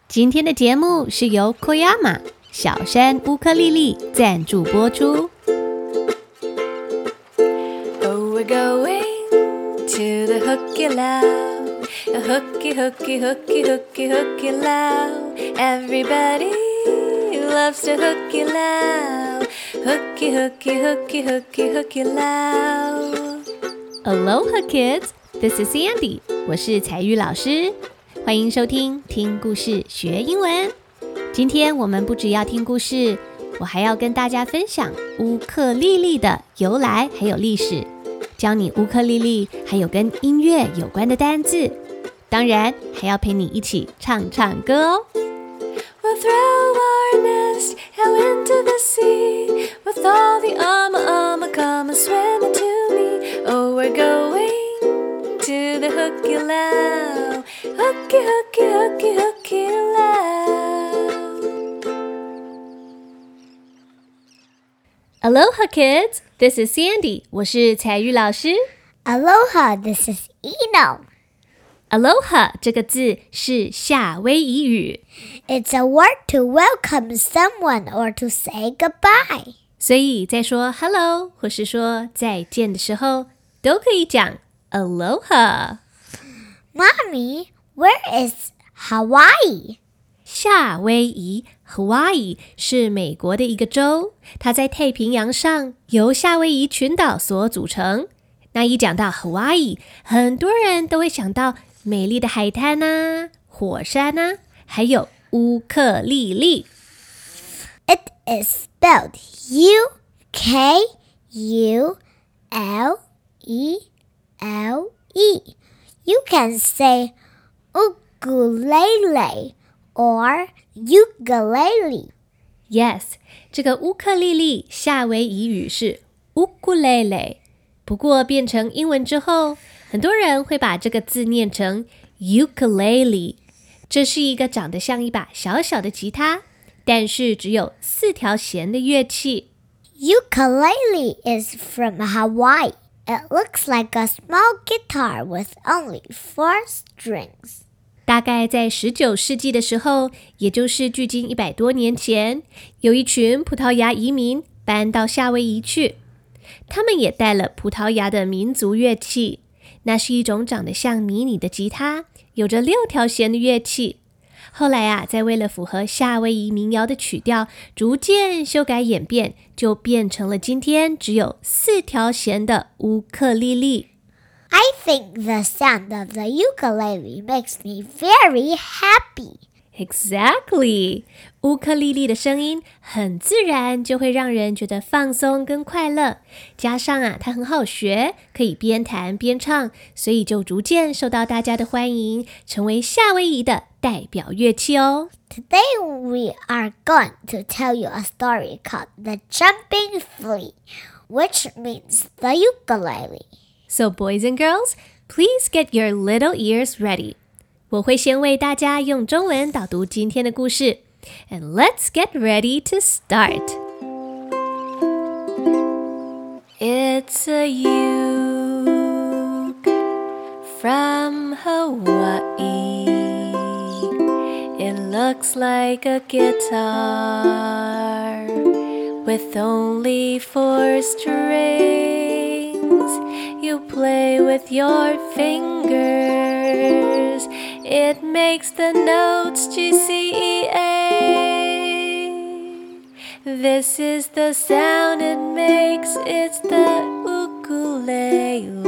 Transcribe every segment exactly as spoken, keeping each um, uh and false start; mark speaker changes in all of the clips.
Speaker 1: 今天的節目是由 Koyama 小山烏克麗麗贊助播出。
Speaker 2: Oh, we're going to the hooky loud, a hooky, hooky, hooky, hooky, hooky loud. Everybody loves the hooky loud, hooky, hooky, hooky, hooky, hooky loud.
Speaker 1: Aloha kids, this is Sandy， 我是采玉老師，歡迎收聽聽故事學英文。今天我們不只要聽故事，我還要跟大家分享烏克麗麗的由來還有歷史，教你烏克麗麗還有跟音樂有關的單字，當然還要陪你一起唱唱歌哦。
Speaker 2: We'll throw our nest out into the sea with all the ama ama come and swim into me. Oh, we're going to the hooky loud, hooky, hooky, hooky, hooky loud.
Speaker 1: Aloha kids, this is Sandy， 我是采玉老師。
Speaker 3: Aloha, this is Eno.Aloha
Speaker 1: 這個字是夏威夷語
Speaker 3: It's a word to welcome someone or to say goodbye.
Speaker 1: 所以在說 hello 或是說再見的時候都可以講 Aloha.
Speaker 3: Mommy, where is Hawaii?
Speaker 1: 夏威夷 Hawaii 是美國的一個州，它在太平洋上，由夏威夷群島所組成。那一講到 Hawaii， 很多人都會想到美麗的海灘啊，火山啊，還有烏克麗麗。
Speaker 3: It is spelled U K U L E L E. You can say ukulele or ukulele.
Speaker 1: Yes, 這個烏克麗麗夏威夷語是 ukulele， 不過變成英文之後，很多人會把這個字念成 ukulele， 這是一個長得像一把小小的吉他，但是只有四條弦的樂器。
Speaker 3: Ukulele is from Hawaii. It looks like a small guitar with only four strings.
Speaker 1: 大概在十九世紀的時候，也就是距今一百多年前，有一群葡萄牙移民搬到夏威夷去，他們也帶了葡萄牙的民族樂器。那是一種長得像迷你的吉他，有着六條弦的樂器。後來啊，在為了符合夏威夷民謠的曲調，逐漸修改演變，就變成了今天只有四條弦的烏克麗麗。
Speaker 3: I think the sound of the ukulele makes me very happy.
Speaker 1: Exactly. 烏克麗麗的聲音很自然，就會讓人覺得放鬆跟快樂。加上啊，它很好學，可以邊彈邊唱，所以就逐漸受到大家的歡迎，成為夏威夷的代表樂器哦。
Speaker 3: Today we are going to tell you a story called The Jumping Flea, which means the ukulele.
Speaker 1: So boys and girls, please get your little ears ready. 我會先為大家用中文導讀今天的故事 And let's get ready to start.
Speaker 2: It's a uke from Hawaii. It looks like a guitar with only four strings. You play with your fingers. It makes the notes G C E A. This is the sound it makes. It's the ukulele.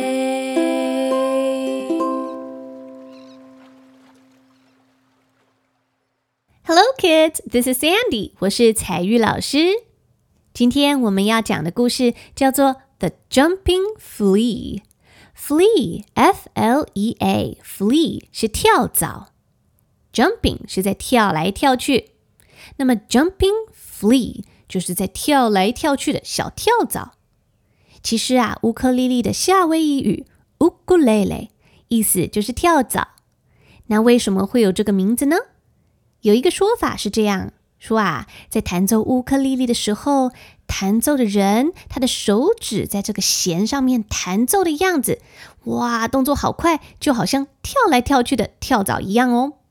Speaker 1: Hello kids, this is Sandy. 我是采玉老師。今天我們要講的故事叫做 The Jumping Flea。Flea, F L E A, Flea 是跳蚤 ，Jumping 是在跳來跳去，那麼 Jumping Flea 就是在跳來跳去的小跳蚤。其實啊，烏克麗麗的夏威夷語 ukulele 意思就是跳蚤。那為什麼會有這個名字呢？有一個說法是這樣說啊，在彈奏烏克麗麗的時候，彈奏的人他的手指在這個弦上面彈奏的樣子，哇，動作好快，就好像跳來跳去的跳蚤一樣哦。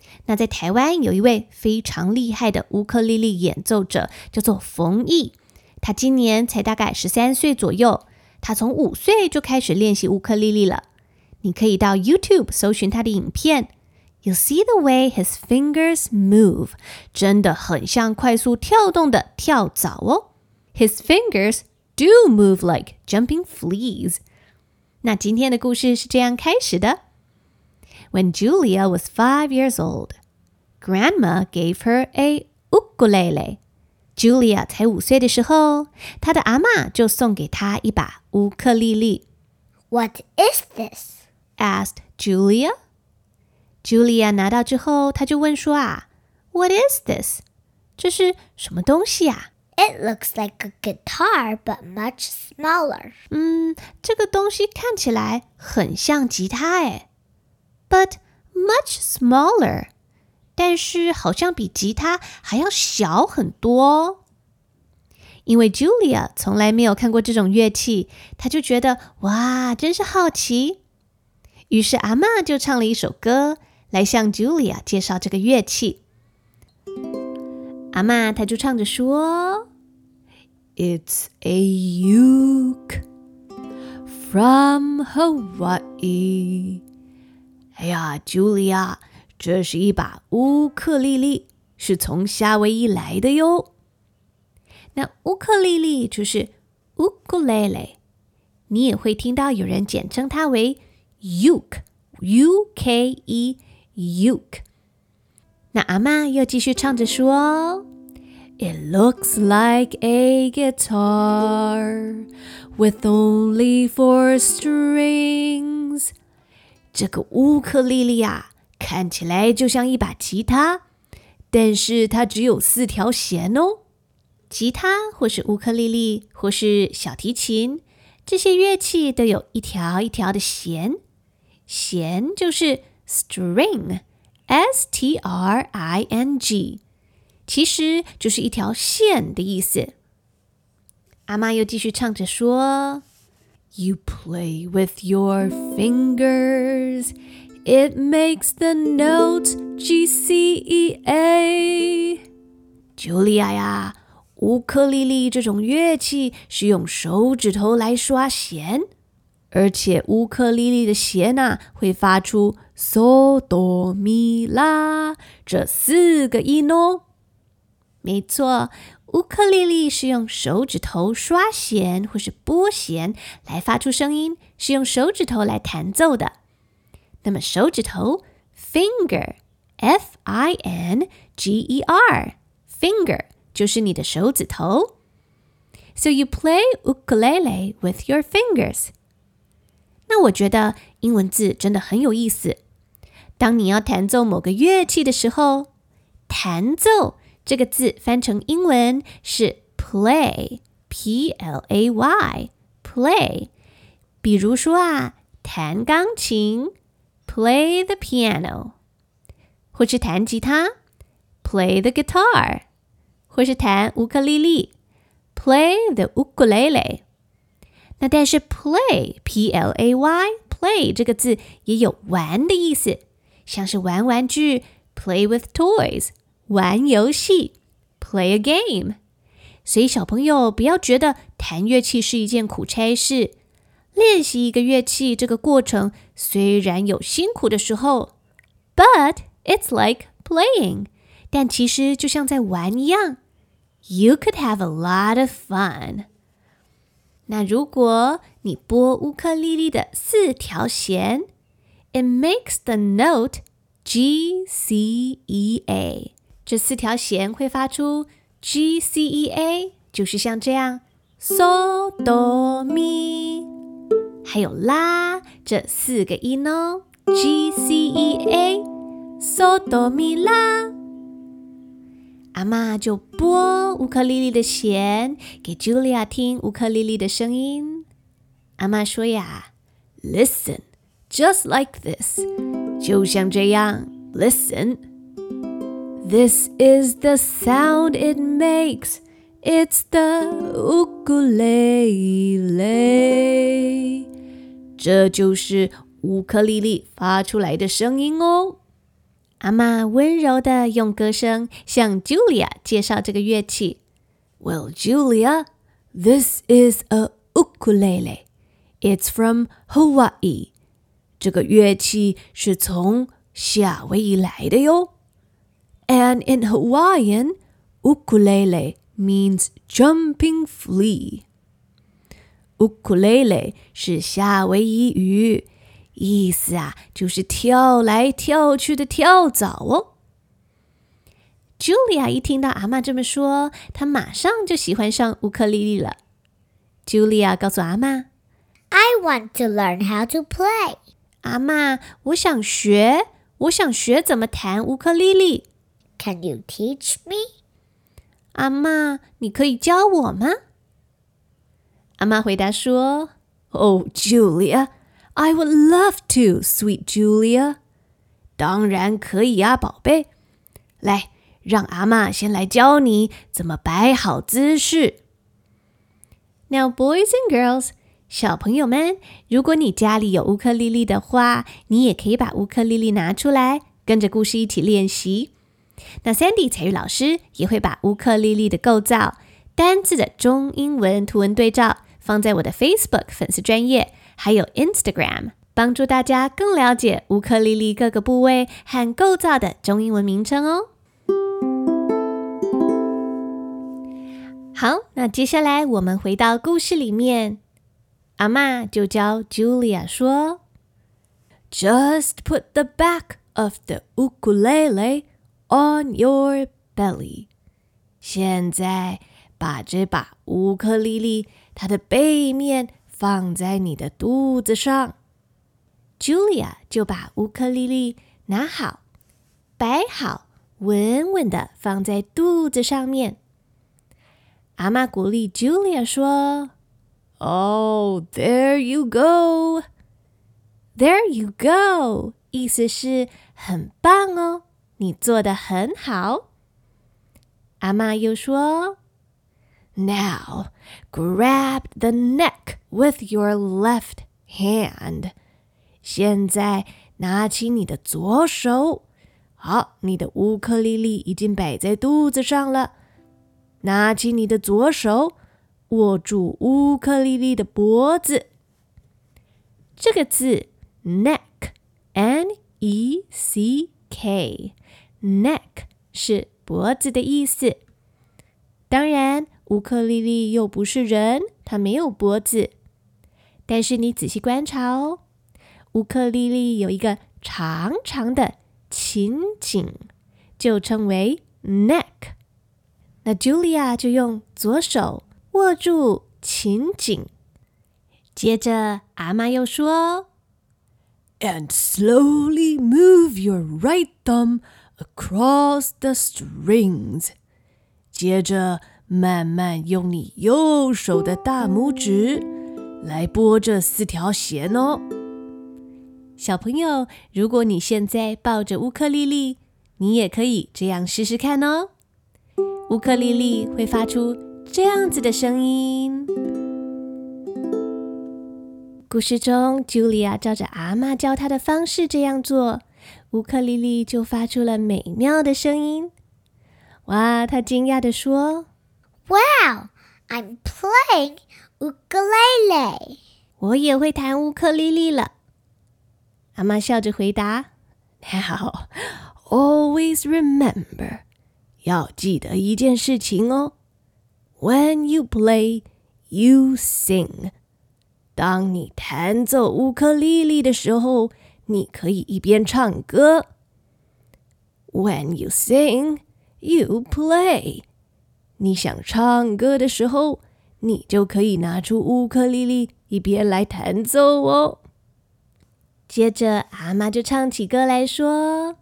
Speaker 1: 那在台灣有一位非常厲害的烏克麗麗演奏者，叫做馮毅。他今年才大概十三歲左右，他從五歲就開始練習烏克麗麗了。你可以到 YouTube 搜尋他的影片， You'll see the way his fingers move， 真的很像快速跳動的跳蚤哦。His fingers do move like jumping fleas。 那今天的故事是這樣開始的。When Julia was five years old, Grandma gave her a ukulele. Julia 才五歲的時候，她的阿嬷就送給她一把烏克麗麗。
Speaker 3: What is this?
Speaker 1: asked Julia. Julia 拿到之後，她就問說啊 What is this? 這是什麼東西啊？
Speaker 3: It looks like a guitar, but much smaller.
Speaker 1: 嗯，這個東西看起來很像吉他誒。But much smaller. 但是好像比吉他還要小很多。因為 Julia 從來沒有看過這種樂器，她就覺得哇，真是好奇。於是阿嬷就唱了一首歌來向 Julia 介紹這個樂器。阿嬷她就唱着說 It's a uke from Hawaii。 哎呀 Julia， 這是一把烏克麗麗，是從夏威夷來的喲。那烏克麗麗就是 ukulele， 你也會聽到有人簡稱它為 uke U K E uke。 那阿嬷又繼續唱着說 It looks like a guitar with only four strings。 這個烏克麗麗啊，看起來就像一把吉他，但是它只有四條弦哦。吉他或是烏克麗麗或是小提琴，這些樂器都有一條一條的弦，弦就是 string S T R I N G， 其實就是一條線的意思。阿嬷又繼續唱着說 You play with your fingers, it makes the notes G C E A。 Julia 呀，烏克麗麗這種樂器是用手指頭來刷弦，而且烏克麗麗的弦啊，會發出嗦哆咪拉這四個音哦。沒錯，烏克麗麗是用手指頭刷弦或是撥弦來發出聲音，是用手指頭來彈奏的。那麼手指頭 finger F I N G E R finger 就是你的手指頭。 So you play ukulele with your fingers。 那我覺得英文字真的很有意思。當你要彈奏某個樂器的時候，彈奏這個字翻成英文是 play P L A Y play。 比如說啊，彈鋼琴 play the piano， 或是彈吉他 play the guitar， 或是彈烏克麗麗 play the ukulele。 那但是 play P L A Y play 這個字也有玩的意思，像是玩玩具 play with toys， 玩遊戲 play a game。 所以小朋友不要覺得彈樂器是一件苦差事，練習一個樂器這個過程雖然有辛苦的時候 but it's like playing， 但其實就像在玩一樣， You could have a lot of fun。 那如果你撥烏克麗麗的四條弦， It makes the note G C E A， 這四條弦會發出 G C E A， 就是像這樣嗦哆咪，還有拉這四個音哦 G C E A 嗦哆咪拉。阿嬷就撥烏克麗麗的弦給 Julia 聽烏克麗麗的聲音。阿嬷說呀 Listen just like this， 就像這樣 Listen， This is the sound it makes， It's the ukulele， 這就是烏克麗麗發出來的聲音哦。 阿嬤溫柔地用歌聲向 Julia 介紹這個樂器。Well, Julia, this is a ukulele. It's from Hawaii. 這個樂器是從夏威夷來的喲。And in Hawaiian, ukulele means jumping flea. Ukulele 是夏威夷語，意思啊就是跳來跳去的跳蚤哦。Julia 一聽到阿嬤這麼說，她馬上就喜歡上烏克麗麗了。Julia 告訴阿嬤
Speaker 3: I want to learn how to play.
Speaker 1: 阿嬤，我想學，我想學怎麼彈烏克麗麗。
Speaker 3: Can you teach me?
Speaker 1: 阿嬤，你可以教我嗎？阿嬤回答說 Oh, Julia, I would love to, sweet Julia. 當然可以啊，寶貝。來，讓阿嬤先來教你怎麼擺好姿勢。Now, boys and girls, 小朋友們，如果你家裡有烏克麗麗的話，你也可以把烏克麗麗拿出來，跟着故事一起練習。那 Sandy 彩玉老師也會把烏克麗麗的構造、單字的中英文圖文對照放在我的 Facebook 粉絲專頁，還有 Instagram， 幫助大家更了解烏克麗麗各個部位和構造的中英文名稱哦。好，那接下來我們回到故事裡面，阿嬤就教 Julia 說 Just put the back of the ukulele on your belly. 現在把這把烏克麗麗它的背面放在你的肚子上。Julia 就把烏克麗麗拿好，擺好，穩穩地放在肚子上面。阿嬤鼓勵 Julia 說 Oh, there you go. There you go. 意思是很棒哦，你做得很好。阿嬤又說 Now, grab the neck with your left hand. 現在拿起你的左手。好，你的烏克麗麗已經擺在肚子上了。拿起你的左手，握住烏克麗麗的脖子。這個字 neck, N E C K, neck 是脖子的意思。當然，烏克麗麗又不是人，它沒有脖子。但是你仔細觀察哦，烏克麗麗有一個長長的琴頸，就稱為 neck。那 Julia 就用左手握住琴頸，接着阿嬤又說 And slowly move your right thumb across the strings. 接着慢慢用你右手的大拇指來撥這四條弦哦。小朋友，如果你現在抱着烏克麗麗，你也可以這樣試試看哦。烏克麗麗會發出這樣子的聲音。故事中 Julia 照着阿嬤教她的方式這樣做，烏克麗麗就發出了美妙的聲音。哇，她驚訝地說
Speaker 3: Wow, I'm playing ukulele.
Speaker 1: 我也會彈烏克麗麗了。阿嬤笑着回答 Now, always remember, 要記得一件事情哦。When you play, you sing. 當你彈奏烏克麗麗的時候，你可以一邊唱歌。When you sing, you play. 你想唱歌的時候，你就可以拿出烏克麗麗一邊來彈奏哦。接着阿嬤就唱起歌來說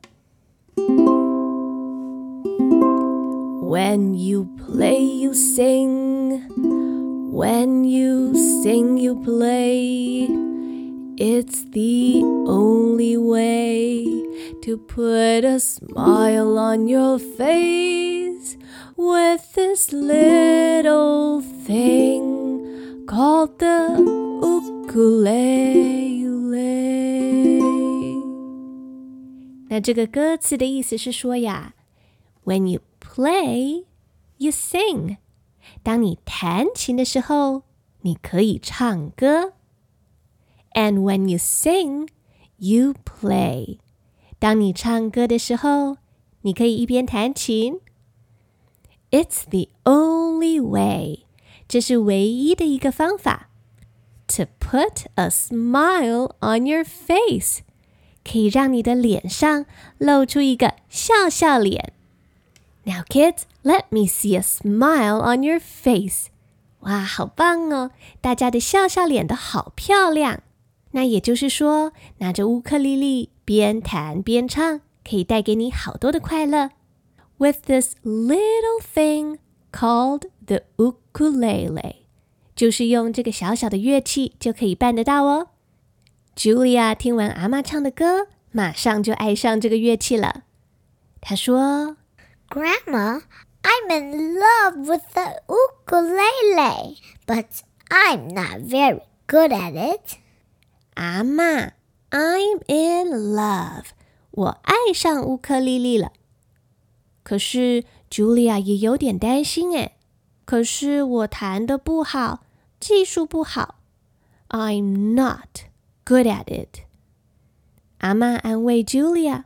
Speaker 1: When you play, you sing. When you sing, you play. It's the only way to put a smile on your face with this little thing called the ukulele. 那這個歌詞的意思是說呀 ，When you play, you sing。當你彈琴的時候，你可以唱歌。And when you sing, you play。當你唱歌的時候，你可以一邊彈琴。It's the only way。這是唯一的一個方法。To put a smile on your face。可以讓你的臉上露出一個笑笑臉。Now kids, let me see a smile on your face. 哇，好棒哦！大家的笑笑臉都好漂亮。那也就是說，拿着烏克麗麗邊彈邊唱，可以帶給你好多的快樂。With this little thing called the ukulele， 就是用這個小小的樂器就可以辦得到哦。Julia 聽完阿嬤唱的歌，馬上就愛上這個樂器了。她說
Speaker 3: Grandma, I'm in love with the ukulele, but I'm not very good at it.
Speaker 1: 阿嬤 I'm in love. 我愛上烏克麗麗了。可是 Julia 也有點擔心誒。可是我彈得不好，技術不好。I'm not good at it. 阿嬤安慰 Julia.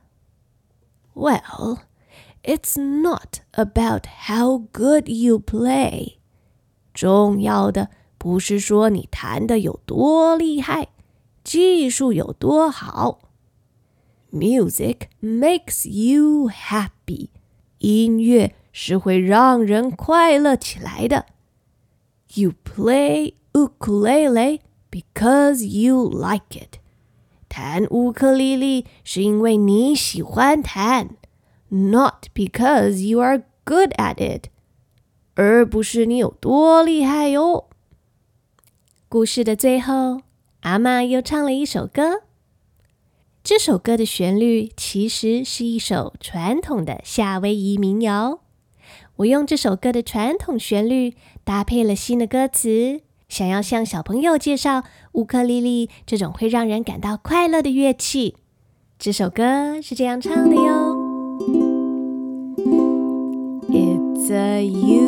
Speaker 1: Well, it's not about how good you play. 重要的不是說你彈得有多厲害，技術有多好。Music makes you happy. 音樂是會讓人快樂起來的。You play ukulele because you like it. 彈烏克麗麗是因為你喜歡彈， not because you are good at it. 而不是你有多厲害喲。故事的最後，阿嬤又唱了一首歌。這首歌的旋律其實是一首傳統的夏威夷民謠。我用這首歌的傳統旋律搭配了新的歌詞，想要向小朋友介紹烏克麗麗這種會讓人感到快樂的樂器。這首歌是這樣唱的喲。It's a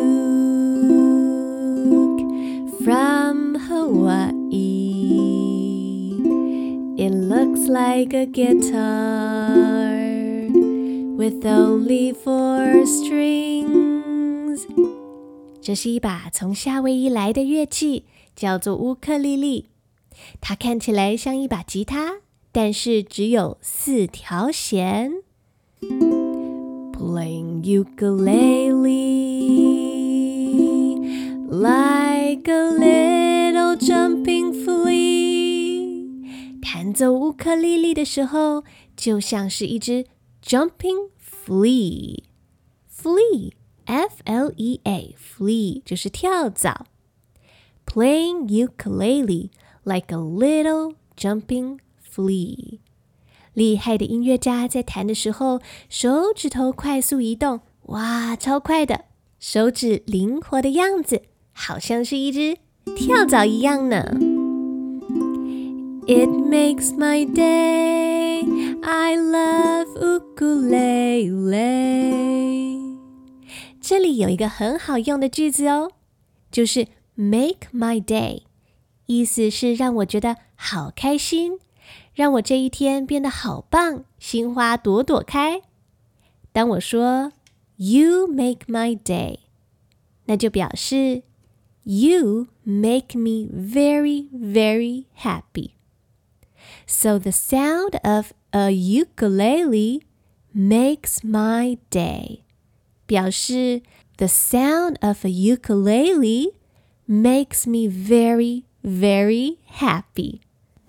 Speaker 1: uke from Hawaii. It looks like a guitar with only four strings. 這是一把從夏威夷來的樂器，叫做烏克麗麗。它看起來像一把吉他，但是只有四條弦。Playing ukulele like a little jumping flea. 彈奏烏克麗麗的時候，就像是一隻 jumping flea. Flea, F L E A, flea 就是跳蚤。Playing ukulele like a little jumping flea. 厲害的音樂家在彈的時候，手指頭快速移動，哇，超快的！手指靈活的樣子，好像是一隻跳蚤一樣呢。It makes my day, I love ukulele. 這裡有一個很好用的句子哦，就是 make my day， 意思是讓我覺得好開心，讓我這一天變得好棒，心花朵朵開。當我說 You make my day， 那就表示 You make me very, very happy. So the sound of a ukulele makes my day. 表示 The sound of a ukulele makes me very, very happy.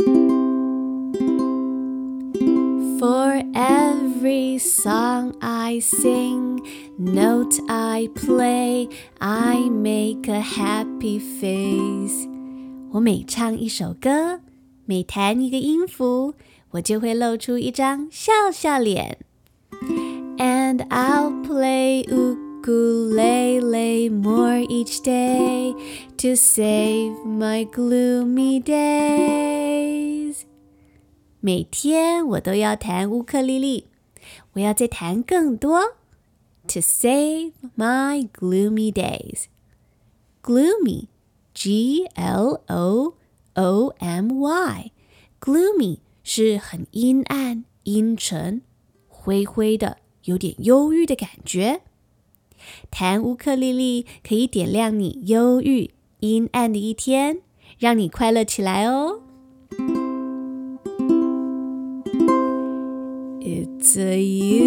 Speaker 1: For every song I sing, note I play, I make a happy face. 我每唱一首歌，每彈一個音符，我就會露出一張笑笑臉。And I'll play ukulele more each day to save my gloomy days. 每天我都要彈烏克麗麗， 我要再彈更多。To save my gloomy days. Gloomy, G L O O M Y. Gloomy 是很陰暗、陰沉、灰灰的，有點憂鬱的感覺。彈烏克麗麗可以點亮你憂鬱、陰暗的一天，讓你快樂起來哦。It's a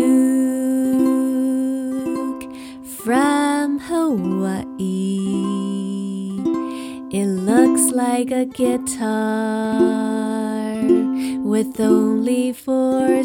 Speaker 1: uke from Hawaii. It looks like a guitar with only four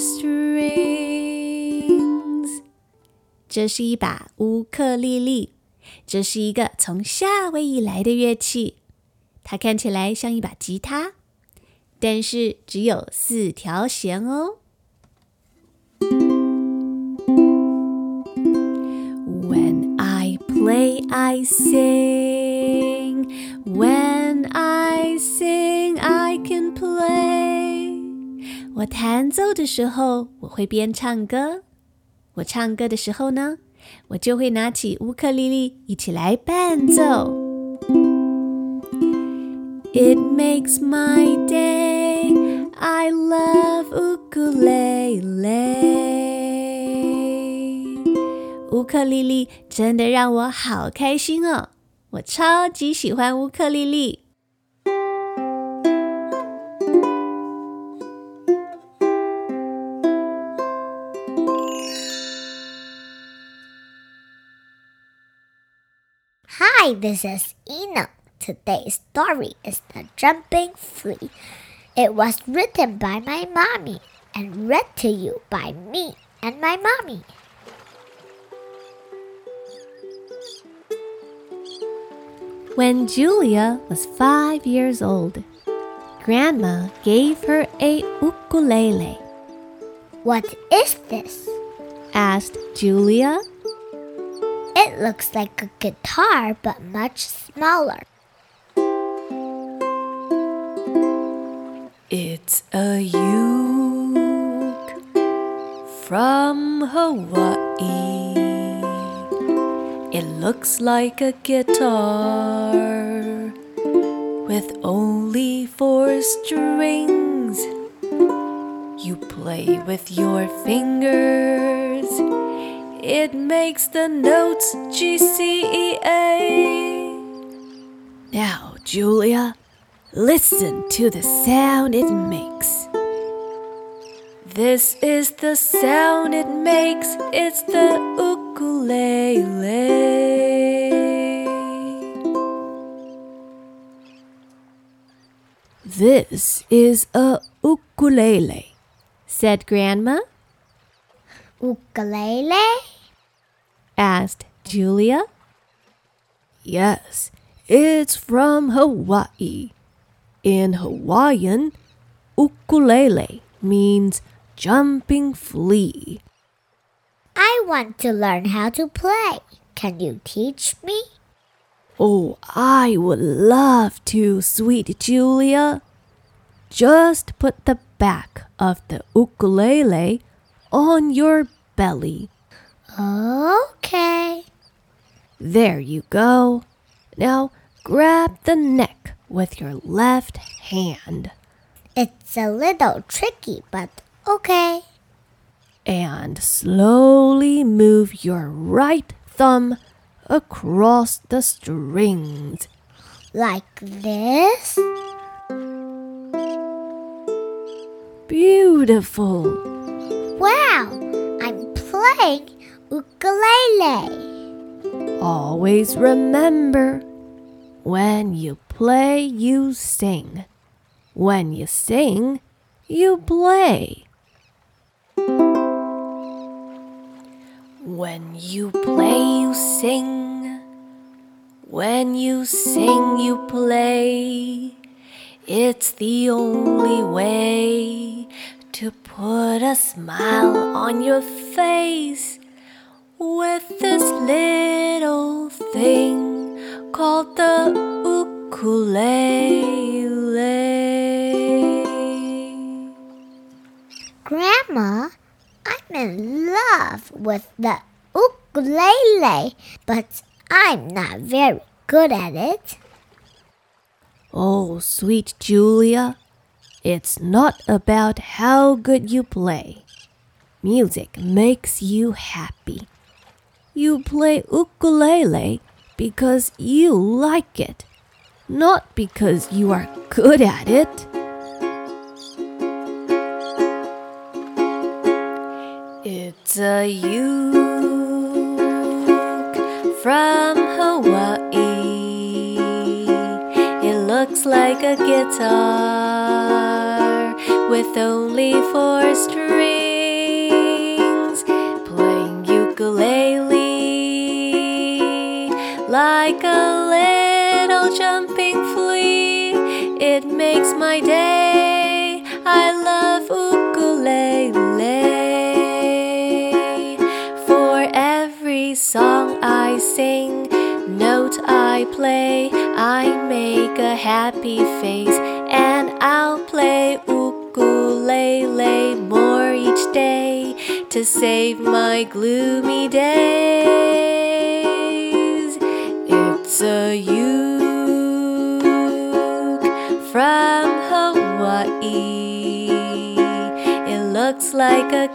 Speaker 1: strings. 這是一把烏克麗麗，這是一個從夏威夷來的樂器。它看起來像一把吉他，但是只有四條弦哦。When I play, I sing. When I sing, I can play. 我彈奏的時候，我會邊唱歌。我唱歌的時候呢，我就會拿起烏克麗麗一起來伴奏。It makes my day. I love ukulele. 烏克麗麗真的讓我好開心哦，我超級喜歡烏克麗麗。
Speaker 3: Hi, this is Ina. Today's story is The Jumping Flea. It was written by my mommy and read to you by me and my mommy.
Speaker 1: When Julia was five years old, Grandma gave her a ukulele.
Speaker 3: What is this?
Speaker 1: Asked Julia.
Speaker 3: It looks like a guitar, but much smaller.
Speaker 2: It's a uke from Hawaii. It looks like a guitar with only four strings. You play with your fingers. It makes the notes G, C, E, A. Now, Julia, listen to the sound it makes. This is the sound it makes. It's the ukulele.
Speaker 1: This is a ukulele, said Grandma.
Speaker 3: Ukulele?
Speaker 1: Asked Julia.
Speaker 2: Yes, it's from Hawaii. In Hawaiian, ukulele means jumping flea.
Speaker 3: I want to learn how to play. Can you teach me?
Speaker 2: Oh, I would love to, sweet Julia. Just put the back of the ukulele on your belly.
Speaker 3: Okay.
Speaker 2: There you go. Now grab the neck with your left hand.
Speaker 3: It's a little tricky, but okay.
Speaker 2: And slowly move your right thumb across the strings.
Speaker 3: Like this?
Speaker 2: Beautiful.
Speaker 3: Wow, I'm playing ukulele.
Speaker 2: Always remember, when you play, you sing. When you sing, you play. When you play, you sing. When you sing, you play. It's the only way to put a smile on your face with this little thing called the ukulele.
Speaker 3: Grandma, I'm in love with the ukulele, but I'm not very good at it.
Speaker 1: Oh, sweet Julia, it's not about how good you play. Music makes you happy. You play ukulele because you like it, not because you are good at it.
Speaker 2: It's a uke from Hawaii. It looks like a guitar with only four strings, playing ukulele like a little jumping flea. It makes my day. I love ukulele. For every song I sing, note I play, I make a happy face, and I'll play ukulele more each day to save my gloomy days. It's a uke from Hawaii. It looks like a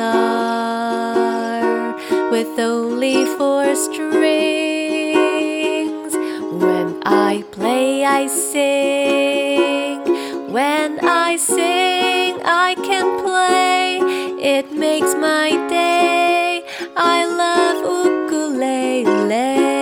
Speaker 2: guitar with only four strings. When I play, I sing. When I sing, I can play. It makes my day. I love ukulele.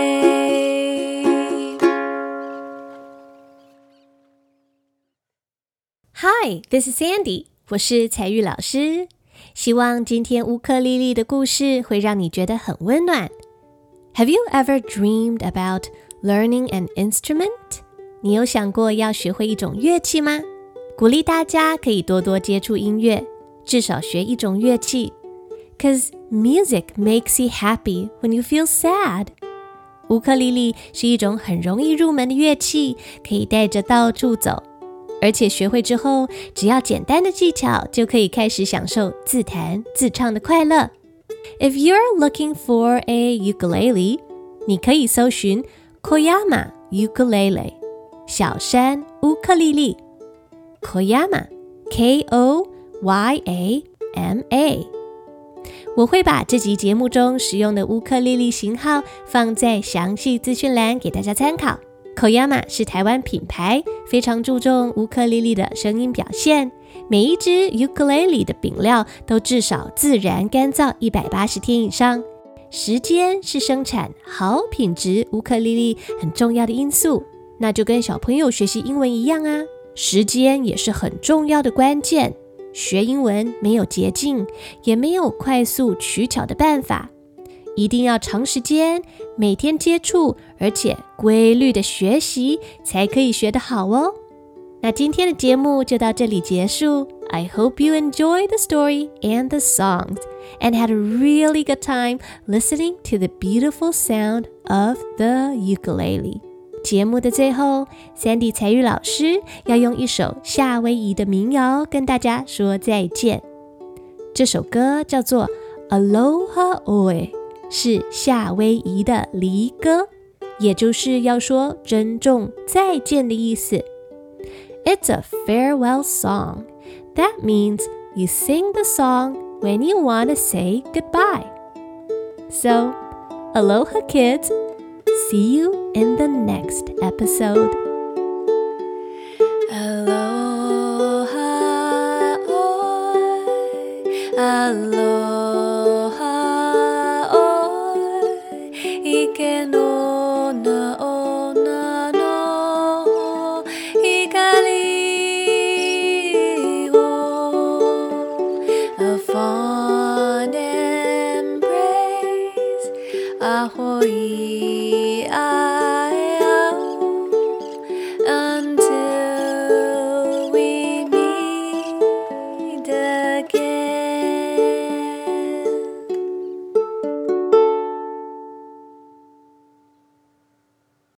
Speaker 1: Hi, this is Sandy. 我是彩玉老師。希望今天烏克麗麗的故事會讓你覺得很溫暖。Have you ever dreamed about learning an instrument? 你有想過要學會一種樂器嗎？鼓勵大家可以多多接觸音樂，至少學一種樂器。Cause music makes you happy when you feel sad. 烏克麗麗是一種很容易入門的樂器，可以帶着到處走。而且學會之後，只要簡單的技巧，就可以開始享受自彈自唱的快樂。If you're looking for a ukulele, 你可以搜尋 Koyama ukulele 小山烏克麗麗 Koyama K O Y A M A。 我會把這集節目中使用的烏克麗麗型號放在詳細資訊欄給大家參考。Koyama 是台灣品牌，非常注重烏克麗麗的聲音表現。每一支 ukulele 的柄料都至少自然乾燥一百八十天以上。時間是生產好品質烏克麗麗很重要的因素。那就跟小朋友學習英文一樣啊，時間也是很重要的關鍵。學英文沒有捷徑，也沒有快速取巧的辦法。一定要長時間，每天接觸，而且規律的學習，才可以學得好哦。那今天的節目就到這裡結束。I hope you enjoyed the story and the songs and had a really good time listening to the beautiful sound of the ukulele. 節目的最後 Sandy 彩玉老師要用一首夏威夷的民謠跟大家說再見。這首歌叫做 Aloha Oe，是夏威夷的離歌，也就是要說珍重再見的意思。It's a farewell song. That means you sing the song when you want to say goodbye. So, aloha kids. See you in the next episode.
Speaker 2: Aloha, oi, aloha.